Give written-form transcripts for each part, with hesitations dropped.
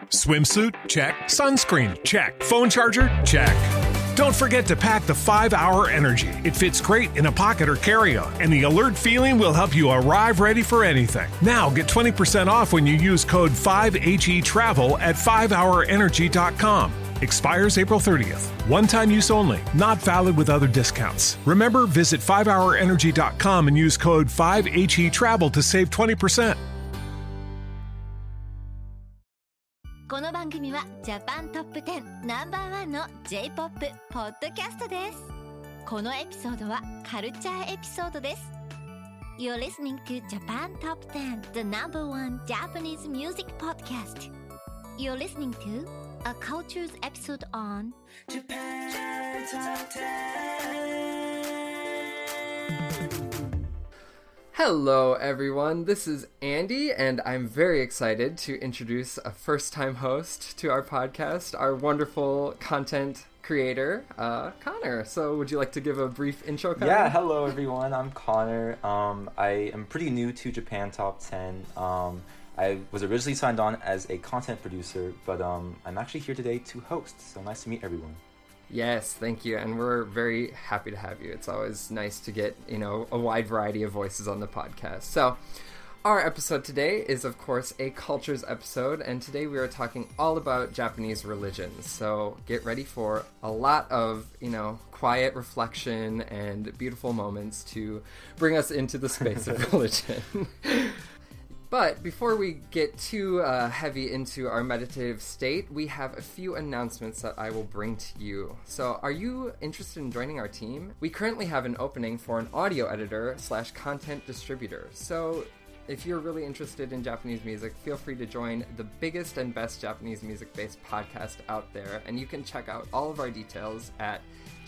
Swimsuit? Check. Sunscreen? Check. Phone charger? Check. Don't forget to pack the 5-Hour Energy. It fits great in a pocket or carry-on, and the alert feeling will help you arrive ready for anything. Now get 20% off when you use code 5HETRAVEL at 5hourenergy.com. Expires April 30th. One-time use only. Not valid with other discounts. Remember, visit 5hourenergy.com and use code 5HETRAVEL to save 20%. この番組はジャパントップ10ナンバーワンの J-POP ポッドキャストです。このエピソードはカルチャーエピソードです。You're listening to Japan Top 10, the number one Japanese music podcast. You're listening to a cultures episode on Japan Top 10. Hello everyone, this is Andy and I'm very excited to introduce a first-time host to our podcast, our wonderful content creator, Connor. So would you like to give a brief intro, Connor? Yeah, hello everyone, I'm Connor. I am pretty new to Japan Top 10. I was originally signed on as a content producer, but I'm actually here today to host, so nice to meet everyone. Yes, thank you, and we're very happy to have you. It's always nice to get, a wide variety of voices on the podcast. So, our episode today is, of course, a cultures episode, and today we are talking all about Japanese religions. So, get ready for a lot of, quiet reflection and beautiful moments to bring us into the space of religion. But before we get too heavy into our meditative state, we have a few announcements that I will bring to you. So, are you interested in joining our team? We currently have an opening for an audio editor / content distributor. So, if you're really interested in Japanese music, feel free to join the biggest and best Japanese music-based podcast out there, and you can check out all of our details at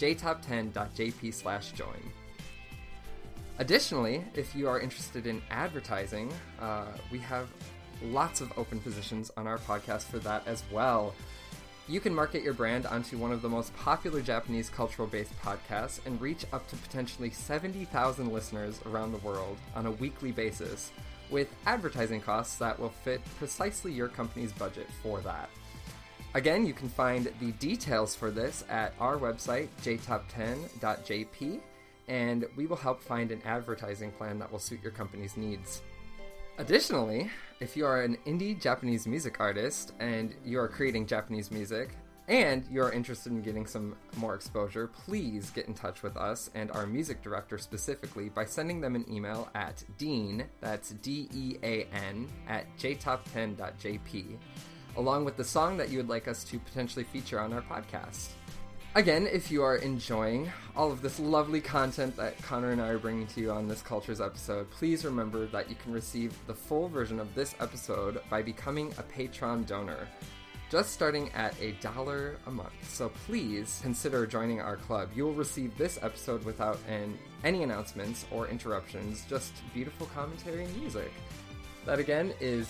jtop10.jp/join. Additionally, if you are interested in advertising, we have lots of open positions on our podcast for that as well. You can market your brand onto one of the most popular Japanese cultural-based podcasts and reach up to potentially 70,000 listeners around the world on a weekly basis with advertising costs that will fit precisely your company's budget for that. Again, you can find the details for this at our website, jtop10.jp. and we will help find an advertising plan that will suit your company's needs. Additionally, if you are an indie Japanese music artist and you are creating Japanese music and you are interested in getting some more exposure, please get in touch with us and our music director specifically by sending them an email at dean, that's DEAN, at jtop10.jp, along with the song that you would like us to potentially feature on our podcast. Again, if you are enjoying all of this lovely content that Connor and I are bringing to you on this Cultures episode, please remember that you can receive the full version of this episode by becoming a Patreon donor, just starting at $1 a month. So please consider joining our club. You will receive this episode without any announcements or interruptions, just beautiful commentary and music. That again is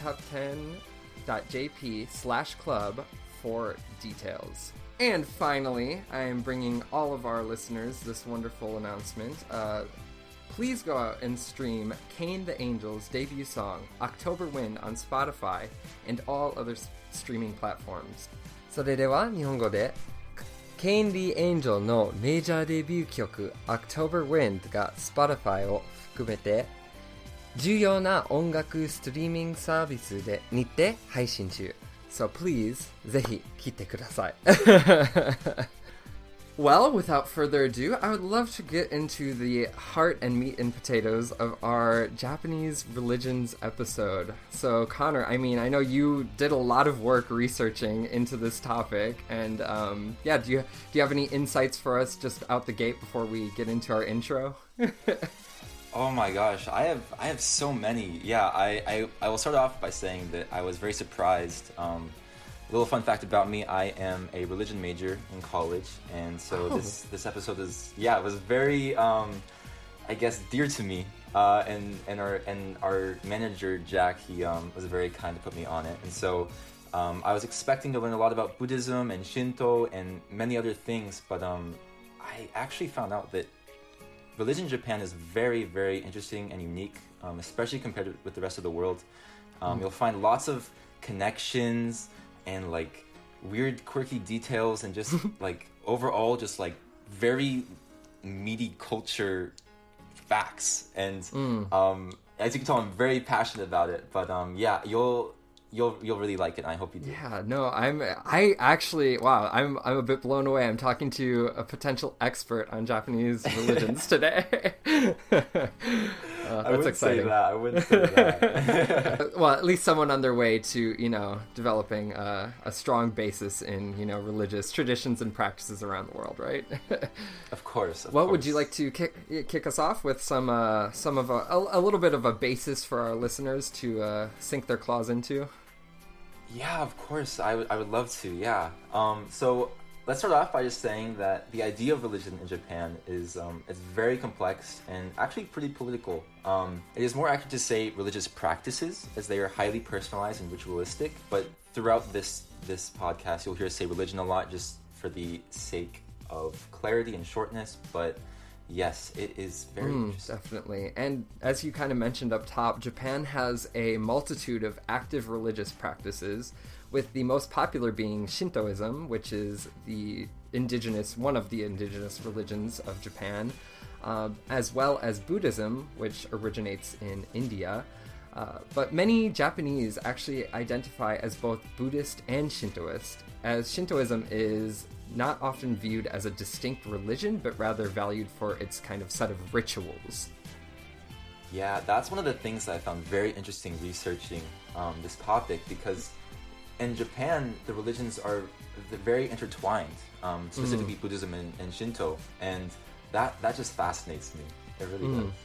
jtop10.jp/club for details. And finally, I am bringing all of our listeners this wonderful announcement. Please go out and stream Kane the Angel's debut song, October Wind, on Spotify and all other streaming platforms. それでは日本語で Kane the Angel のメジャーデビュー曲 October Wind が Spotify を含めて重要な音楽ストリーミングサービスにて配信中。So please, ぜひ聞いてください。Well, without further ado, I would love to get into the heart and meat and potatoes of our Japanese religions episode. So, Connor, I know you did a lot of work researching into this topic, and do you have any insights for us just out the gate before we get into our intro? Oh my gosh, I have so many. Yeah, I will start off by saying that I was very surprised. Little fun fact about me, I am a religion major in college, and so this episode was very I guess dear to me. And our manager Jack, he was very kind to put me on it, and so I was expecting to learn a lot about Buddhism and Shinto and many other things, but I actually found out that religion in Japan is very, very interesting and unique, especially compared with the rest of the world. You'll find lots of connections and like weird quirky details and just like overall just like very meaty culture facts. And as you can tell, I'm very passionate about it. But yeah, you'll really like it, and I hope you do. Yeah, no, I actually, wow, I'm a bit blown away. I'm talking to a potential expert on Japanese religions today. That's exciting. I wouldn't say that. Well, at least someone on their way to, developing a strong basis in, religious traditions and practices around the world, right? Of course. What would you like to kick us off with? Some of a little bit of a basis for our listeners to sink their claws into? Yeah, of course. I would love to. Yeah. So let's start off by just saying that the idea of religion in Japan is it's very complex and actually pretty political. It is more accurate to say religious practices, as they are highly personalized and ritualistic. But throughout this podcast, you'll hear us say religion a lot, just for the sake of clarity and shortness. But yes, it is very interesting. Definitely. And as you kind of mentioned up top, Japan has a multitude of active religious practices, with the most popular being Shintoism, which is one of the indigenous religions of Japan, as well as Buddhism, which originates in India. But many Japanese actually identify as both Buddhist and Shintoist, as Shintoism is not often viewed as a distinct religion, but rather valued for its kind of set of rituals. Yeah, that's one of the things that I found very interesting researching this topic, because in Japan, the religions are very intertwined, specifically Buddhism and Shinto, and that just fascinates me. It really does.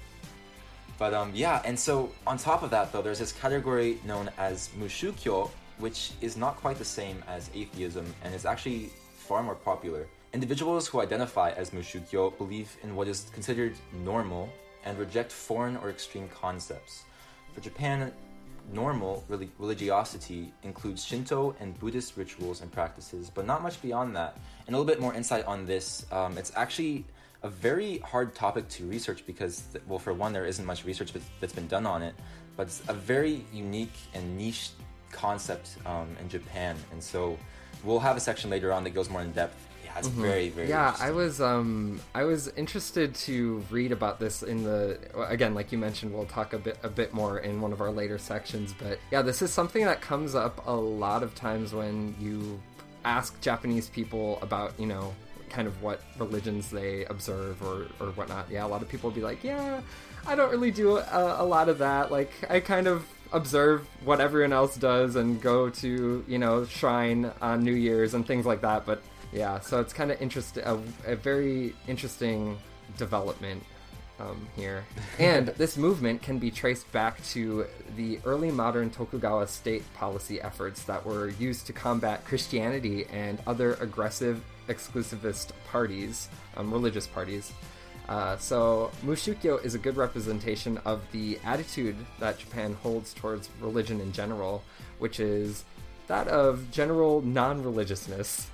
But yeah, and so on top of that, though, there's this category known as Mushukyo, which is not quite the same as atheism and is actually far more popular. Individuals who identify as Mushukyo believe in what is considered normal and reject foreign or extreme concepts. For Japan, normal religiosity includes Shinto and Buddhist rituals and practices, but not much beyond that. And a little bit more insight on this, it's actually a very hard topic to research because, well, for one, there isn't much research that's been done on it, but it's a very unique and niche concept in Japan. And so we'll have a section later on that goes more in depth. Yeah, it's very, very interesting. I was interested to read about this again, like you mentioned, we'll talk a bit more in one of our later sections, but yeah, this is something that comes up a lot of times when you ask Japanese people about, kind of what religions they observe or whatnot. Yeah, a lot of people will be like, yeah, I don't really do a lot of that. Like, I kind of observe what everyone else does and go to, shrine on New Year's and things like that. But yeah, so it's kind of interesting, a very interesting development here. And this movement can be traced back to the early modern Tokugawa state policy efforts that were used to combat Christianity and other aggressive exclusivist parties, religious parties. So Mushukyo is a good representation of the attitude that Japan holds towards religion in general, which is that of general non-religiousness.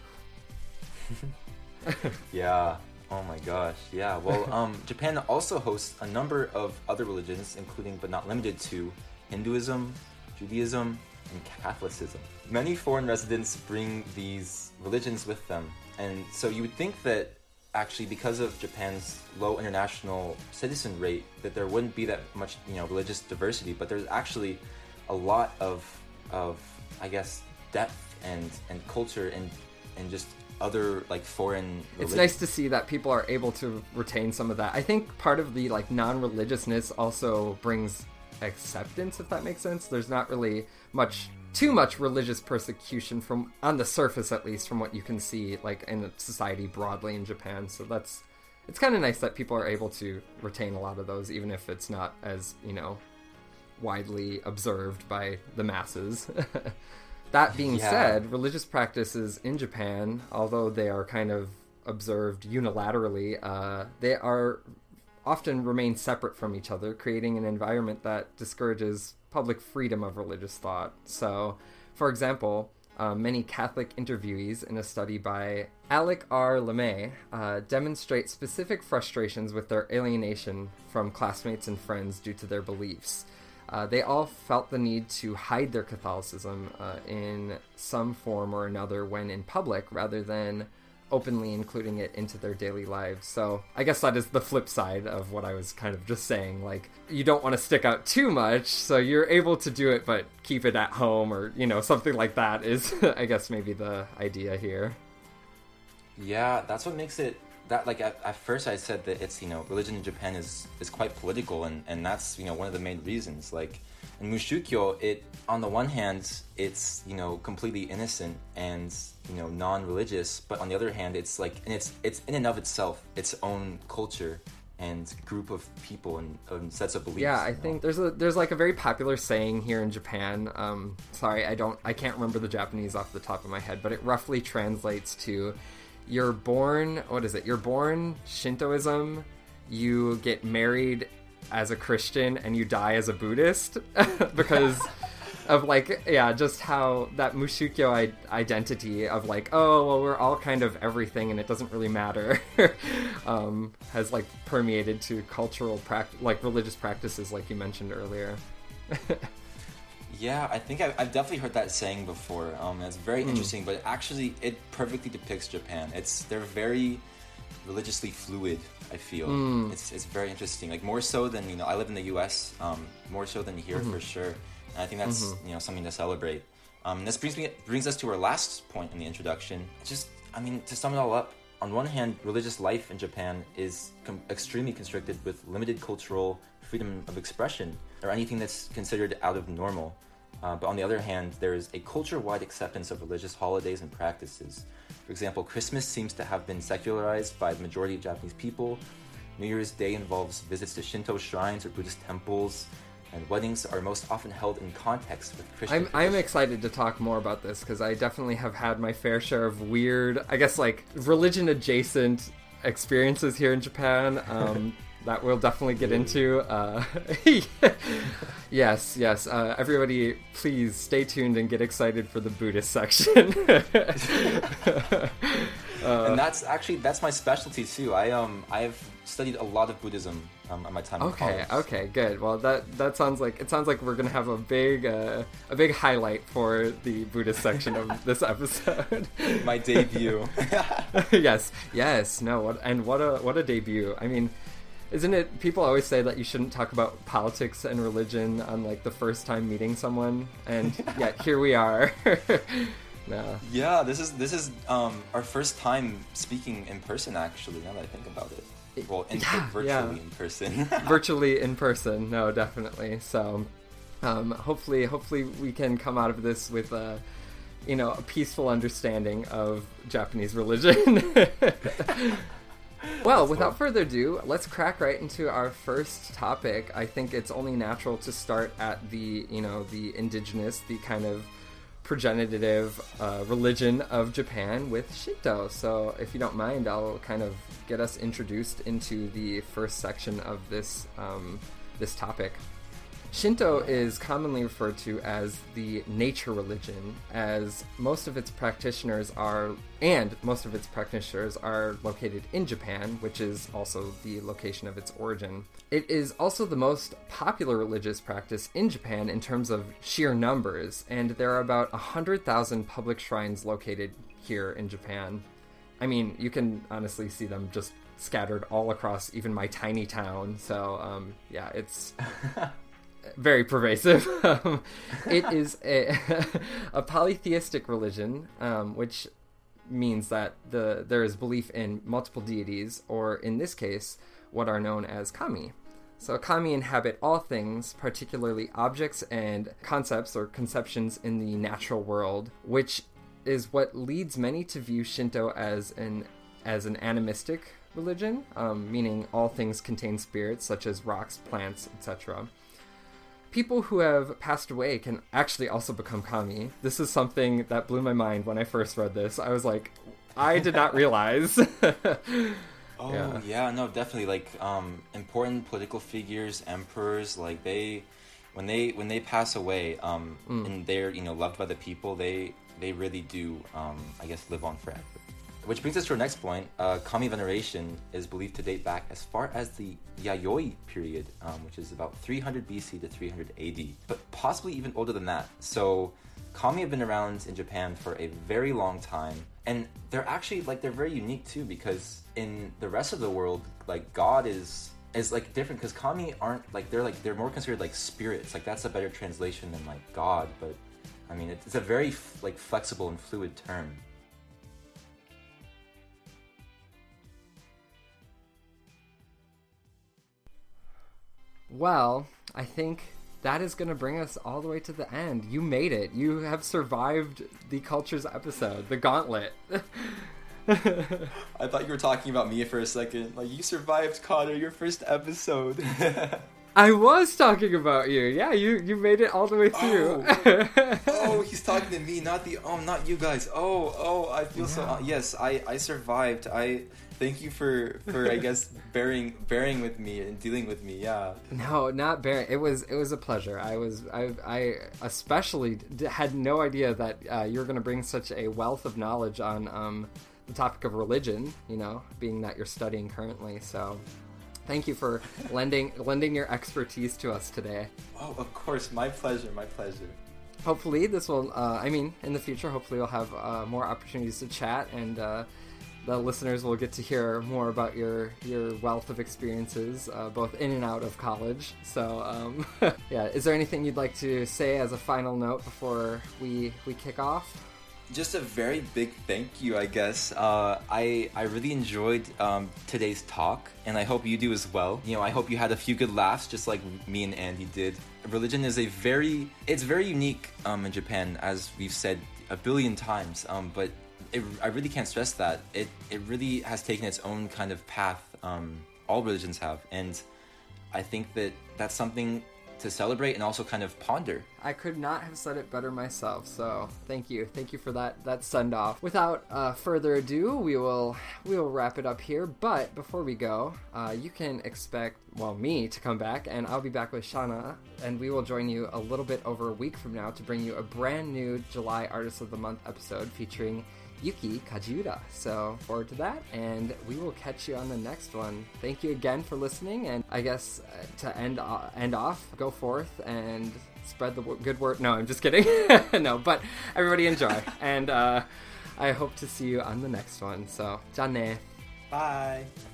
Yeah. Oh my gosh. Yeah. Well, Japan also hosts a number of other religions, including but not limited to Hinduism, Judaism, and Catholicism. Many foreign residents bring these religions with them, and so you would think that actually, because of Japan's low international citizen rate, that there wouldn't be that much, religious diversity. But there's actually a lot of I guess, depth and culture and just other like foreign religions. It's nice to see that people are able to retain some of that. I think part of the like non-religiousness also brings acceptance, if that makes sense. There's not really too much religious persecution, from on the surface at least, from what you can see like in society broadly in Japan. So it's kind of nice that people are able to retain a lot of those, even if it's not as widely observed by the masses. That being said, religious practices in Japan, although they are kind of observed unilaterally, they are often remain separate from each other, creating an environment that discourages public freedom of religious thought. So, for example, many Catholic interviewees in a study by Alec R. LeMay demonstrate specific frustrations with their alienation from classmates and friends due to their beliefs. they all felt the need to hide their Catholicism in some form or another when in public, rather than openly including it into their daily lives. So I guess that is the flip side of what I was kind of just saying. Like, you don't want to stick out too much, so you're able to do it, but keep it at home, or, you know, something like that is, I guess, maybe the idea here. Yeah, that's what makes it, that, like, at first I said that it's, you know, religion in Japan is quite political, and that's, you know, one of the main reasons. Like, in Mushukyo, it, on the one hand, it's, you know, completely innocent and, you know, non-religious, but on the other hand, it's like, and it's in and of itself its own culture and group of people and sets of beliefs. Yeah, I think there's like a very popular saying here in Japan. Sorry, I can't remember the Japanese off the top of my head, but it roughly translates to, you're born Shintoism, you get married as a Christian, and you die as a Buddhist, because of, like, yeah, just how that Mushukyo identity of, like, oh, well, we're all kind of everything and it doesn't really matter, has, like, permeated to cultural like religious practices, like you mentioned earlier. Yeah, I think I've definitely heard that saying before. It's very interesting, but actually it perfectly depicts Japan. They're very religiously fluid, I feel. It's very interesting. Like, more so than, you know, I live in the US, more so than here for sure. And I think that's, you know, something to celebrate. This brings us to our last point in the introduction. Just, I mean, to sum it all up, on one hand, religious life in Japan is extremely constricted with limited cultural freedom of expression, or anything that's considered out of normal. But on the other hand, there is a culture-wide acceptance of religious holidays and practices. For example, Christmas seems to have been secularized by the majority of Japanese people. New Year's Day involves visits to Shinto shrines or Buddhist temples, and weddings are most often held in context with Christian I'm excited to talk more about this, because I definitely have had my fair share of weird, I guess, like, religion-adjacent experiences here in Japan. That we'll definitely get into. Yes. Everybody, please stay tuned and get excited for the Buddhist section. And that's my specialty too. I've studied a lot of Buddhism at my time in college. Okay, good. Well, that sounds like we're gonna have a big highlight for the Buddhist section of this episode. My debut. Yes. No. What a debut. I mean, isn't it? People always say that you shouldn't talk about politics and religion on, like, the first time meeting someone, and yet here we are. No. Yeah, this is our first time speaking in person, actually, now that I think about it. Well, virtually in person. Virtually in person, no, definitely. So, hopefully we can come out of this with a peaceful understanding of Japanese religion. Well, without further ado, let's crack right into our first topic. I think it's only natural to start at the indigenous, the kind of progenitive religion of Japan with Shinto. So if you don't mind, I'll kind of get us introduced into the first section of this topic. Shinto is commonly referred to as the nature religion, as most of its practitioners are located in Japan, which is also the location of its origin. It is also the most popular religious practice in Japan in terms of sheer numbers, and there are about 100,000 public shrines located here in Japan. I mean, you can honestly see them just scattered all across even my tiny town, so it's very pervasive. It is a polytheistic religion, which means that there is belief in multiple deities, or in this case, what are known as kami. So kami inhabit all things, particularly objects and concepts or conceptions in the natural world, which is what leads many to view Shinto as an animistic religion, meaning all things contain spirits, such as rocks, plants, etc. People who have passed away can actually also become kami. This is something that blew my mind when I first read this. I was like, I did not realize. No, definitely. Like, important political figures, emperors, like when they pass away, and they're loved by the people, they really do, I guess, live on forever. which brings us to our next point. Kami veneration is believed to date back as far as the Yayoi period, which is about 300 BC to 300 AD, but possibly even older than that. So Kami have been around in Japan for a very long time, and they're actually they're very unique too, because in the rest of the world, God is different, because Kami aren't they're more considered spirits. That's a better translation than God, but I mean it's a very flexible and fluid term. Well, I think that is going to bring us all the way to the end. You made it. You have survived the Cultures episode, the gauntlet. I thought you were talking about me for a second. You survived, Connor, your first episode. I was talking about you. Yeah, you made it all the way through. Oh, he's talking to me, not you guys. I feel so. Yes, I survived. I thank you for I guess bearing with me and dealing with me. Yeah. No, not bearing. It was a pleasure. I especially had no idea that you were going to bring such a wealth of knowledge on the topic of religion. Being that you're studying currently, so. Thank you for lending your expertise to us today. Oh, of course. My pleasure. Hopefully this will, in the future, hopefully we'll have more opportunities to chat, and the listeners will get to hear more about your wealth of experiences, both in and out of college. So, yeah, is there anything you'd like to say as a final note before we kick off? Just a very big thank you, I guess. I really enjoyed today's talk, and I hope you do as well. I hope you had a few good laughs, just like me and Andy did. Religion is very unique in Japan, as we've said a billion times. But I really can't stress that it really has taken its own kind of path. All religions have, and I think that's something to celebrate and also kind of ponder. I could not have said it better myself, so thank you for that send off. Without further ado, we will wrap it up here, but before we go, you can expect me to come back, and I'll be back with Shauna, and we will join you a little bit over a week from now to bring you a brand new July Artist of the Month episode featuring Yuki Kajiura. So forward to that, and we will catch you on the next one. Thank you again for listening, and I guess to end off, go forth and spread the good word. No, I'm just kidding. No, but everybody enjoy, and I hope to see you on the next one. So, じゃあね. Bye.